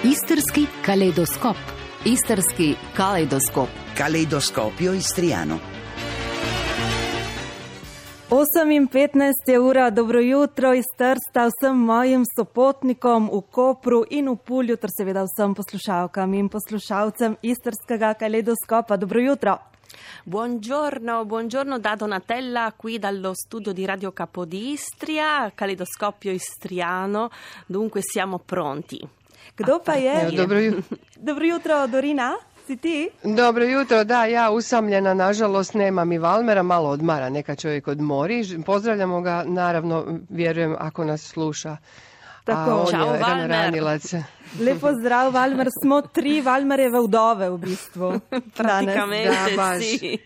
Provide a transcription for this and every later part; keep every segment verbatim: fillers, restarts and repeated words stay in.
Istarski kaleidoskop. Istarski kaleidoskop. Kaleidoskopio istriano. osem in petnajst je ura, dobro jutro iz Trsta vsem mojim sopotnikom v Kopru in v Pulju, ter seveda vsem poslušalkam in poslušalcem Istarskega kaleidoskopa. Dobro jutro. Buongiorno, buongiorno da Donatella qui dallo studio di Radio Capodistria, Caleidoscopio Istriano, dunque siamo pronti. Kdo pa je? Dobro jutro. Dobro jutro, Dorina, si ti? Dobro jutro, da, ja usamljena, nažalost nemam i Valmera, malo odmara, neka čovjek odmori. Pozdravljamo ga, naravno, vjerujem, ako nas sluša. Tako. A on Ćao, je Valmer. ranilac. Lepo zdrav, Valmer. Smo tri Valmerjeve vdove v bistvu. Praticamente Da, baš. sì.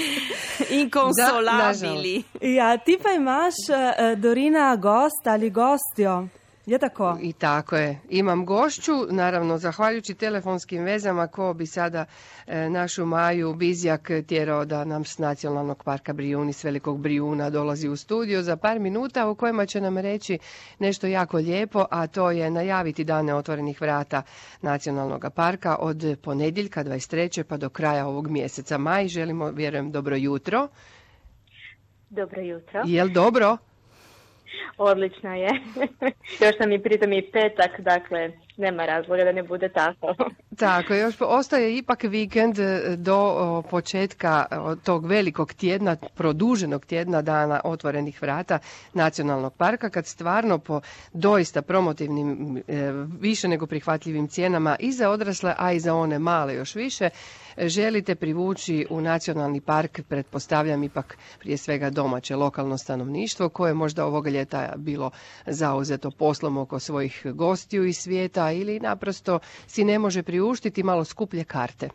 Inconsolabili. Ja, ti pa imaš, eh, Dorina, gost ali gostjo. Je tako? I tako je. Imam gošću, naravno, zahvaljujući telefonskim vezama, ko bi sada e, našu Maju Bizjak tjerao da nam s Nacionalnog parka Brijuni, s Velikog Brijuna, dolazi u studio za par minuta u kojima će nam reći nešto jako lijepo, a to je najaviti dane otvorenih vrata Nacionalnog parka od ponedjeljka dvadeset trećeg pa do kraja ovog mjeseca. Maj, želimo, vjerujem, dobro jutro. Dobro jutro. Jel dobro? Odlično je. Još nam i pritom i petak, dakle nema razloga da ne bude tako. Tako, još ostaje ipak vikend do o, početka o, tog velikog tjedna, produženog tjedna dana otvorenih vrata Nacionalnog parka, kad stvarno po doista promotivnim, e, više nego prihvatljivim cijenama i za odrasle, a i za one male još više, želite privući u Nacionalni park, pretpostavljam ipak prije svega domaće lokalno stanovništvo, koje možda ovoga ljeta bilo zauzeto poslom oko svojih gostiju iz svijeta ili naprosto si ne može priuštiti malo skuplje karte.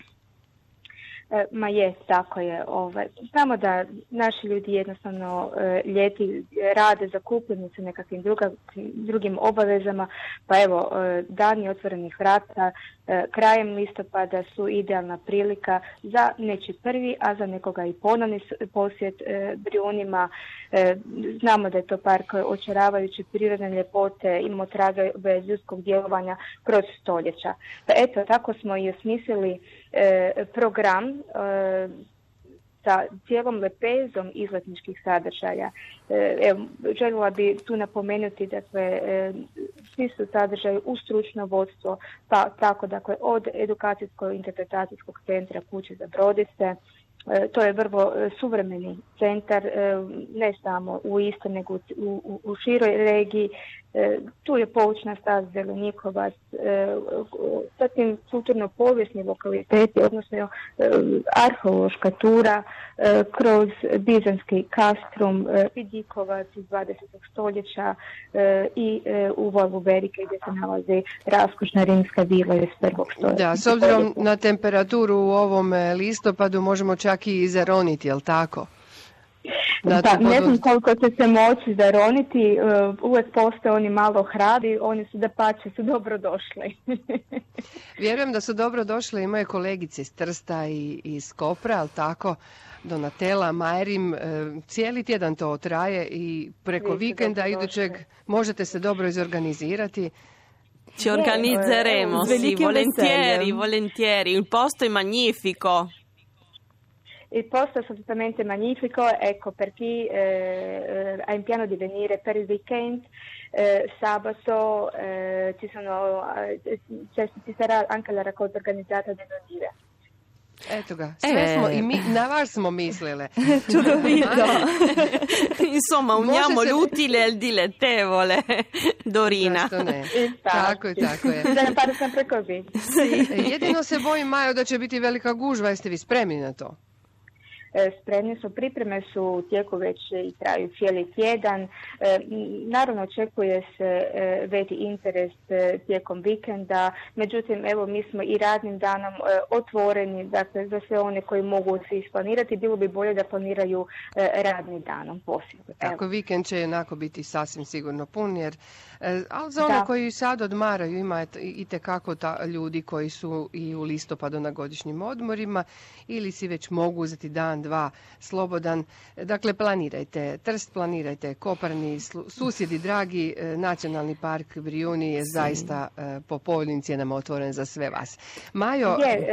E, Ma je, tako je. Ovaj. Znamo da naši ljudi jednostavno e, ljeti rade, zakupljeni su nekakvim druga, drugim obavezama, pa evo, e, dani otvorenih vrata e, krajem listopada su idealna prilika za nečiji prvi, a za nekoga i ponovni posjet e, Brijunima. E, znamo da je to park očaravajuće prirodne ljepote, imamo tragove ljudskog djelovanja kroz stoljeća. Pa eto, tako smo i osmislili e, program e, sa cijelom lepezom izletničkih sadržaja. E, evo, željela bi tu napomenuti, dakle, e, svi su sadržaji u stručno vodstvo, pa tako, dakle, od edukacijsko-interpretacijskog centra Kuće za brodice. E, to je vrlo e, suvremeni centar, e, ne samo u Istri, nego u, u, u široj regiji. E, tu je poučna staza Zelenikovac, e, zatim kulturno-povijesni lokaliteti, odnosno e, arheološka tura e, kroz Bizanski Kastrum, e, Vidikovac iz dvadesetog stoljeća e, i e, u Volvu Berike gdje se nalazi raskošna rimska vila iz prvog stoljeća. Da, s obzirom na temperaturu u ovom listopadu možemo čak i zaroniti, jel tako? Da, pa, ne znam koliko će se moći zaroniti, uh, uvijek postoje oni malo hrabri, oni su da pače, su dobro došli. Vjerujem da su dobro došle i moje kolegice iz Trsta i iz Kopra, ali tako, Donatella, Majrim, e, cijeli tjedan to traje i preko vikenda idućeg možete se dobro izorganizirati. Ci organizzeremo, S sì, velikim volentieri, veseljem. volentieri. Il posto è magnifico. Il posto è assolutamente magnifico, ecco per chi eh, ha in piano di venire per il weekend, eh, sabato eh, ci, sono, eh, cioè, ci sarà anche la raccolta organizzata delle olive. Eto ga, sve E. smo, i mi, na vas smo mislile. Čudovito. Insomma, uniamo Može se- l'utile al dilettevole, Dorina. Zašto ne? Infatti. Tako je, tako je. Da ne fare sempre così. E, Jedino se bojim, Majo, da će biti velika gužva, jeste vi spremni na to? E, Spremni su, pripreme su u tijeku već i traju cijeli tjedan. E, Naravno očekuje se e, veći interes e, tijekom vikenda, međutim evo mi smo i radnim danom e, otvoreni, dakle za sve one koji mogu se isplanirati, bilo bi bolje da planiraju e, radnim danom posebno. Tako, vikend će jednako biti sasvim sigurno pun, jer, e, ali za one Da. koji sad odmaraju ima itekako ta ljudi koji su i u listopadu na godišnjim odmorima ili si već mogu uzeti dan jedan dva slobodan. Dakle, planirajte Trst, planirajte Koparni, susjedi dragi, Nacionalni park Brijuni je zaista po povoljnim cijenama otvoren za sve vas. Majo... Je,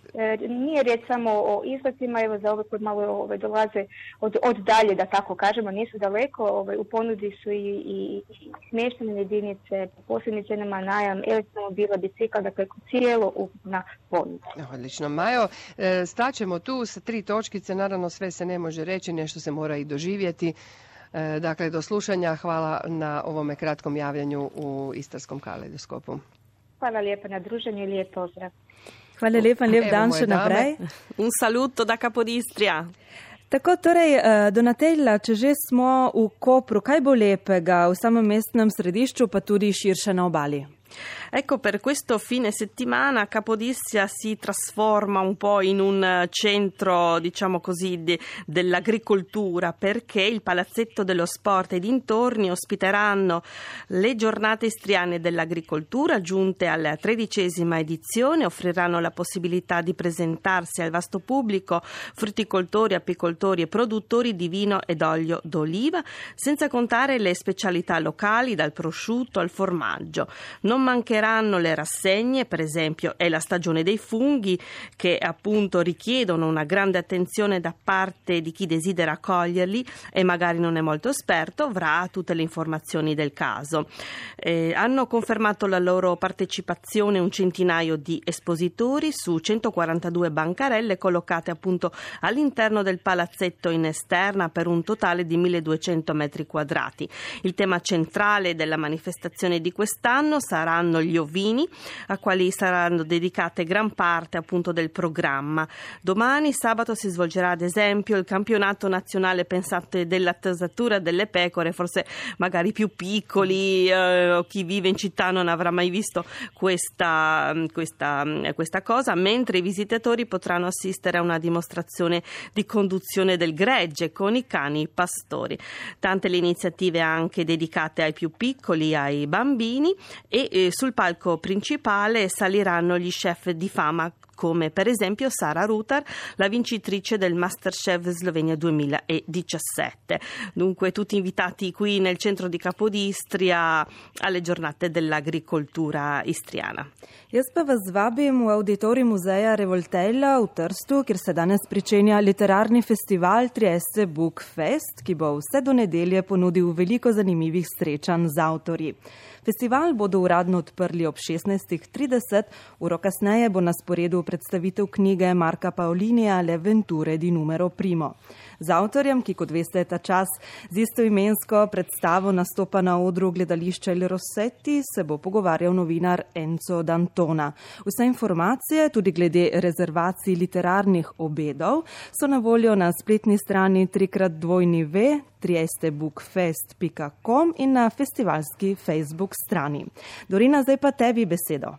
nije riječ samo o izletima, evo za ove koji malo ove, dolaze od, od dalje, da tako kažemo, nisu daleko, ove, u ponudi su i, i, i smještene jedinice, posebnim cijenama najam, elektromobila, bicikla, dakle cijelo ukupna ponuda. Odlično. Majo, staćemo tu sa tri točkice, naravno sve se ne može reći, nešto se mora i doživjeti. Dakle, do slušanja, hvala na ovome kratkom javljanju u Istarskom kaleidoskopu. Hvala lijepo na druženju i lijep pozdrav. Hvala lepa, lep dan še naprej. Un saluto da Capodistria. Tako, torej, Donatella, če že smo v Kopru, kaj bo lepega v samem mestnem središču, pa tudi širše na obali? Ecco, per questo fine settimana Capodistria si trasforma un po' in un centro, diciamo così, de, dell'agricoltura, perché il Palazzetto dello Sport e dintorni ospiteranno le giornate istriane dell'agricoltura, giunte alla tredicesima edizione, offriranno la possibilità di presentarsi al vasto pubblico frutticoltori, apicoltori e produttori di vino ed olio d'oliva, senza contare le specialità locali, dal prosciutto al formaggio. Non mancheranno le rassegne, per esempio è la stagione dei funghi, che appunto richiedono una grande attenzione da parte di chi desidera coglierli e magari non è molto esperto, avrà tutte le informazioni del caso. Eh, hanno confermato la loro partecipazione un centinaio di espositori su centoquarantadue bancarelle collocate appunto all'interno del palazzetto in esterna per un totale di milleduecento metri quadrati. Il tema centrale della manifestazione di quest'anno saranno gli ovini, a quali saranno dedicate gran parte appunto del programma. Domani, sabato, si svolgerà ad esempio il campionato nazionale pensate dell'attasatura delle pecore, forse magari più piccoli, eh, chi vive in città non avrà mai visto questa, questa, questa cosa, mentre i visitatori potranno assistere a una dimostrazione di conduzione del gregge con i cani pastori. Tante le iniziative anche dedicate ai più piccoli, ai bambini, e eh, sul palco principale saliranno gli chef di fama come per esempio Sara Rutar, la vincitrice del Masterchef Slovenia duemiladiciassette. Dunque tutti invitati qui nel centro di Capodistria alle giornate dell'agricoltura istriana. Jaz pa vas vabim v auditorij muzeja Revoltella v Trstu, kjer se danes pričenja literarni festival Trieste Book Fest, ki bo vse do nedelje ponudil veliko zanimivih srečanj z avtorji. Festival bodo uradno odprli ob šestnajst trideset, uro kasneje bo na sporedu predstavitev knjige Marka Paolinija Le Venture di numero primo. Z avtorjem, ki kot veste ta čas z istoimensko predstavo nastopa na odru gledališča Il Rossetti, se bo pogovarjal novinar Enzo D'Antona. Vse informacije, tudi glede rezervacij literarnih obedov, so na voljo na spletni strani trikrat dvojni v trieste book fest pika com in na festivalski Facebook strani. Dorina, zdaj pa tebi besedo.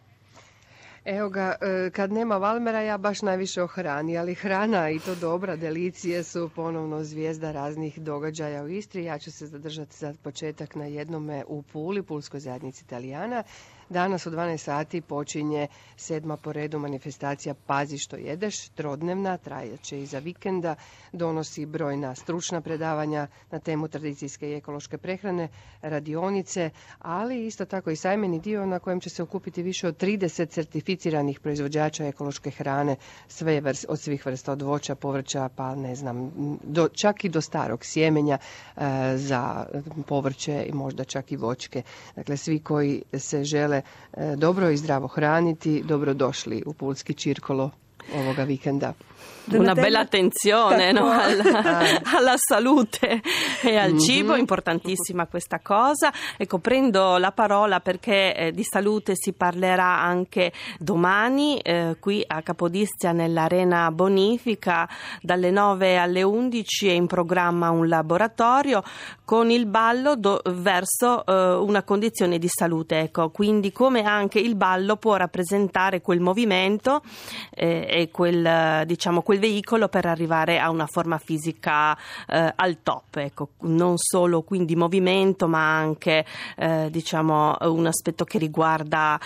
Evo ga, kad nema Valmera ja baš najviše o hrani, ali hrana i to dobra, delicije su ponovno zvijezda raznih događaja u Istri. Ja ću se zadržati za početak na jednome u Puli, Pulskoj zajednici Italijana. Danas u dvanaest sati počinje sedma po redu manifestacija Pazi što jedeš, trodnevna, trajaće iza vikenda, donosi brojna stručna predavanja na temu tradicijske i ekološke prehrane, radionice, ali isto tako i sajmeni dio na kojem će se okupiti više od trideset certificiranih proizvođača ekološke hrane, sve vrst, od svih vrsta, od voća, povrća, pa ne znam, do, čak i do starog sjemenja e, za povrće i možda čak i voćke. Dakle, svi koji se žele dobro i zdravo hraniti, dobrodošli u Pulski circolo ovoga vikenda. Una bella attenzione, no? alla, alla salute e al cibo, mm-hmm. Importantissima questa cosa. Ecco, prendo la parola perché eh, di salute si parlerà anche domani eh, qui a Capodistria nell'Arena Bonifica dalle nove alle undici è in programma un laboratorio con il ballo do, verso eh, una condizione di salute, ecco, quindi come anche il ballo può rappresentare quel movimento eh, e quel, diciamo, quel quel veicolo per arrivare a una forma fisica eh, al top, ecco, non solo quindi movimento, ma anche eh, diciamo un aspetto che riguarda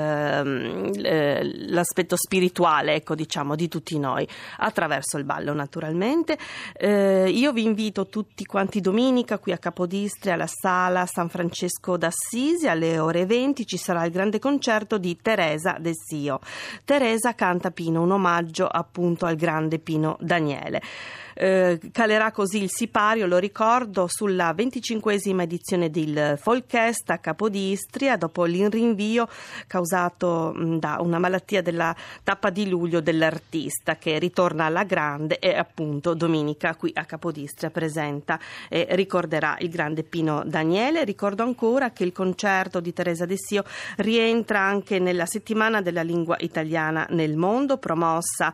eh, l'aspetto spirituale, ecco, diciamo, di tutti noi, attraverso il ballo naturalmente. Eh, io vi invito tutti quanti domenica qui a Capodistria, alla sala San Francesco d'Assisi, alle ore venti ci sarà il grande concerto di Teresa Dessio. Teresa canta Pino, un omaggio appunto al grande Pino Daniele. Eh, calerà così il sipario, lo ricordo, sulla venticinquesima edizione del Folkfest a Capodistria, dopo il rinvio causato mh, da una malattia della tappa di luglio dell'artista, che ritorna alla grande e appunto domenica qui a Capodistria presenta e ricorderà il grande Pino Daniele. Ricordo ancora che il concerto di Teresa Dessio rientra anche nella settimana della lingua italiana nel mondo, promossa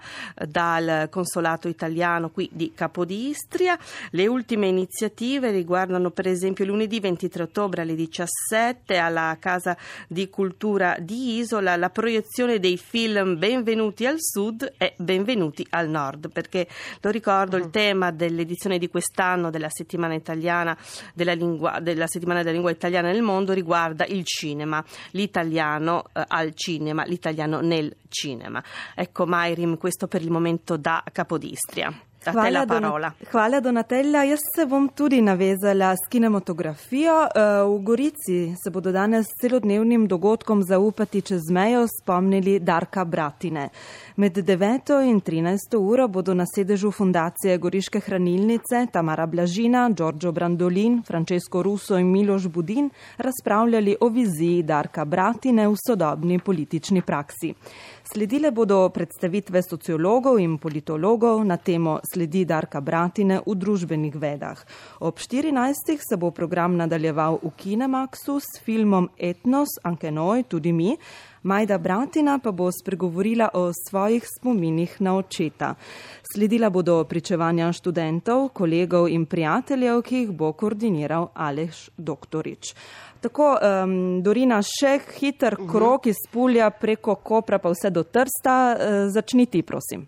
dal consolato italiano qui di Capodistria. Le ultime iniziative riguardano per esempio lunedì ventitré ottobre alle diciassette alla Casa di Cultura di Isola la proiezione dei film Benvenuti al Sud e Benvenuti al Nord, perché lo ricordo, il tema dell'edizione di quest'anno della settimana italiana della lingua della settimana della lingua italiana nel mondo riguarda il cinema, l'italiano eh, al cinema, l'italiano nel cinema. Ecco, Mayrim, questo per il momento da Capodistria. A te la parola. Hvala, Donatella. Jaz se bom tudi navezala s kinematografijo. V Gorici se bodo danes s celodnevnim dogodkom Zaupati čez mejo spomnili Darka Bratine. Med deveto in trinajsto uro bodo na sedežu Fundacije Goriške hranilnice Tamara Blažina, Giorgio Brandolin, Francesco Russo in Miloš Budin razpravljali o viziji Darka Bratine v sodobni politični praksi. Sledile bodo predstavitve sociologov in politologov na temo Sledi Darka Bratine v družbenih vedah. Ob štirinajstih se bo program nadaljeval v Kinemaxu s filmom Etnos, Ankenoj, tudi mi. Majda Bratina pa bo spregovorila o svojih spominih na očeta. Sledila bodo pričevanja študentov, kolegov in prijateljev, ki jih bo koordiniral Aleš Doktorič. Tako, um, Dorina, še hiter krok iz Pulja preko Kopra pa vse do Trsta. Uh, začni ti, prosim.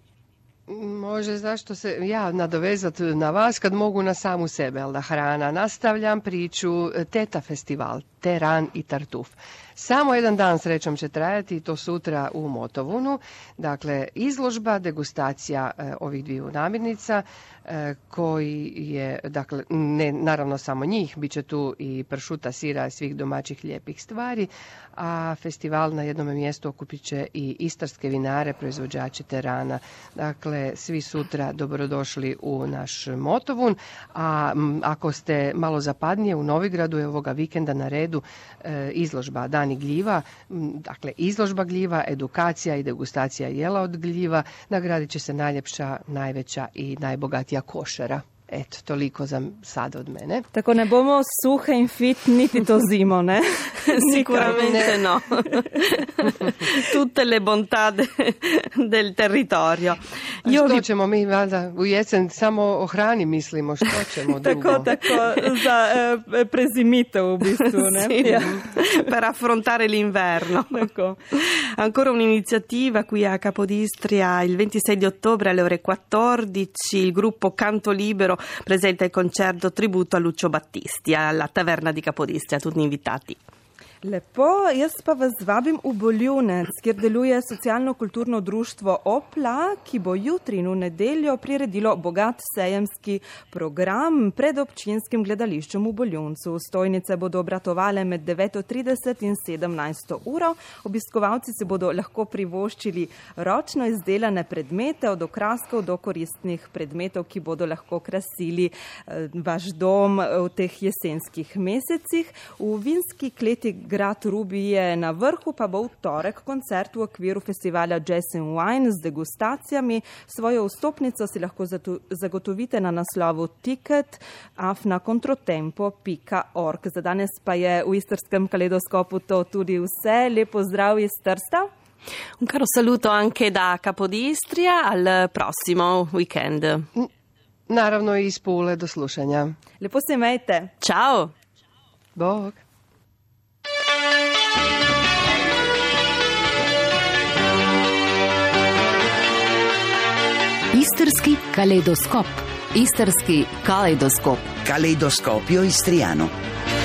Može, zašto se ja nadovezati na vas kad mogu na samu sebe, ali da hrana. Nastavljam priču Teta festival, Teran i Tartuf. Samo jedan dan srećom će trajati i to sutra u Motovunu. Dakle, izložba, degustacija e, ovih dviju namirnica e, koji je, dakle, ne naravno samo njih, bit će tu i pršuta, sira i svih domaćih lijepih stvari, a festival na jednom mjestu okupit će i istarske vinare, proizvođače terana. Dakle, svi sutra dobrodošli u naš Motovun, a m, ako ste malo zapadnije u Novigradu je ovoga vikenda na redu e, izložba Dan gljiva, dakle izložba gljiva, edukacija i degustacija jela od gljiva, nagradit će se najljepša, najveća i najbogatija košara. Eto, toliko za sada od mene. Tako ne bomo suhe in fit niti to zimo, ne? Sicuramente no. Tutte le bontà de, del territorio. A što vi... ćemo mi valjda u jesen samo o hrani mislimo, što ćemo drugo? Tako, tako, za eh, prezimitev v bistvu, ne? Sì, ja. Per affrontare l'inverno. Ecco. Ancora un'iniziativa qui a Capodistria il ventisei di ottobre alle ore quattordici, il gruppo Canto Libero presenta il concerto tributo a Lucio Battisti alla taverna di Capodistria, tutti invitati. Lepo, jaz pa vas vabim v Boljunec, kjer deluje socialno-kulturno društvo Opla, ki bo jutri in v nedeljo priredilo bogat sejemski program pred občinskim gledališčem v Boljuncu. Stojnice bodo obratovale med deveto trideset in sedemnajsto uro. Obiskovalci se bodo lahko privoščili ročno izdelane predmete, od okraskov do koristnih predmetov, ki bodo lahko krasili vaš dom v teh jesenskih mesecih. V vinski kleti Grad Rubi je na vrhu, pa bo v torek koncert v okviru festivala Jazz and Wine z degustacijami. Svojo vstopnico si lahko zagotovite na naslovu ticket afna controtempo pika org. Za danes pa je v Istrskem kaleidoskopu to tudi vse. Lepo zdrav iz Trsta. Un caro saluto anche da Capodistria, al prossimo weekend. Naravno i iz Pule, do slušanja. Lepo se imejte. Ciao. Bog. Istarski kaleidoskop. Istarski kaleidoskop. Caleidoscopio istriano.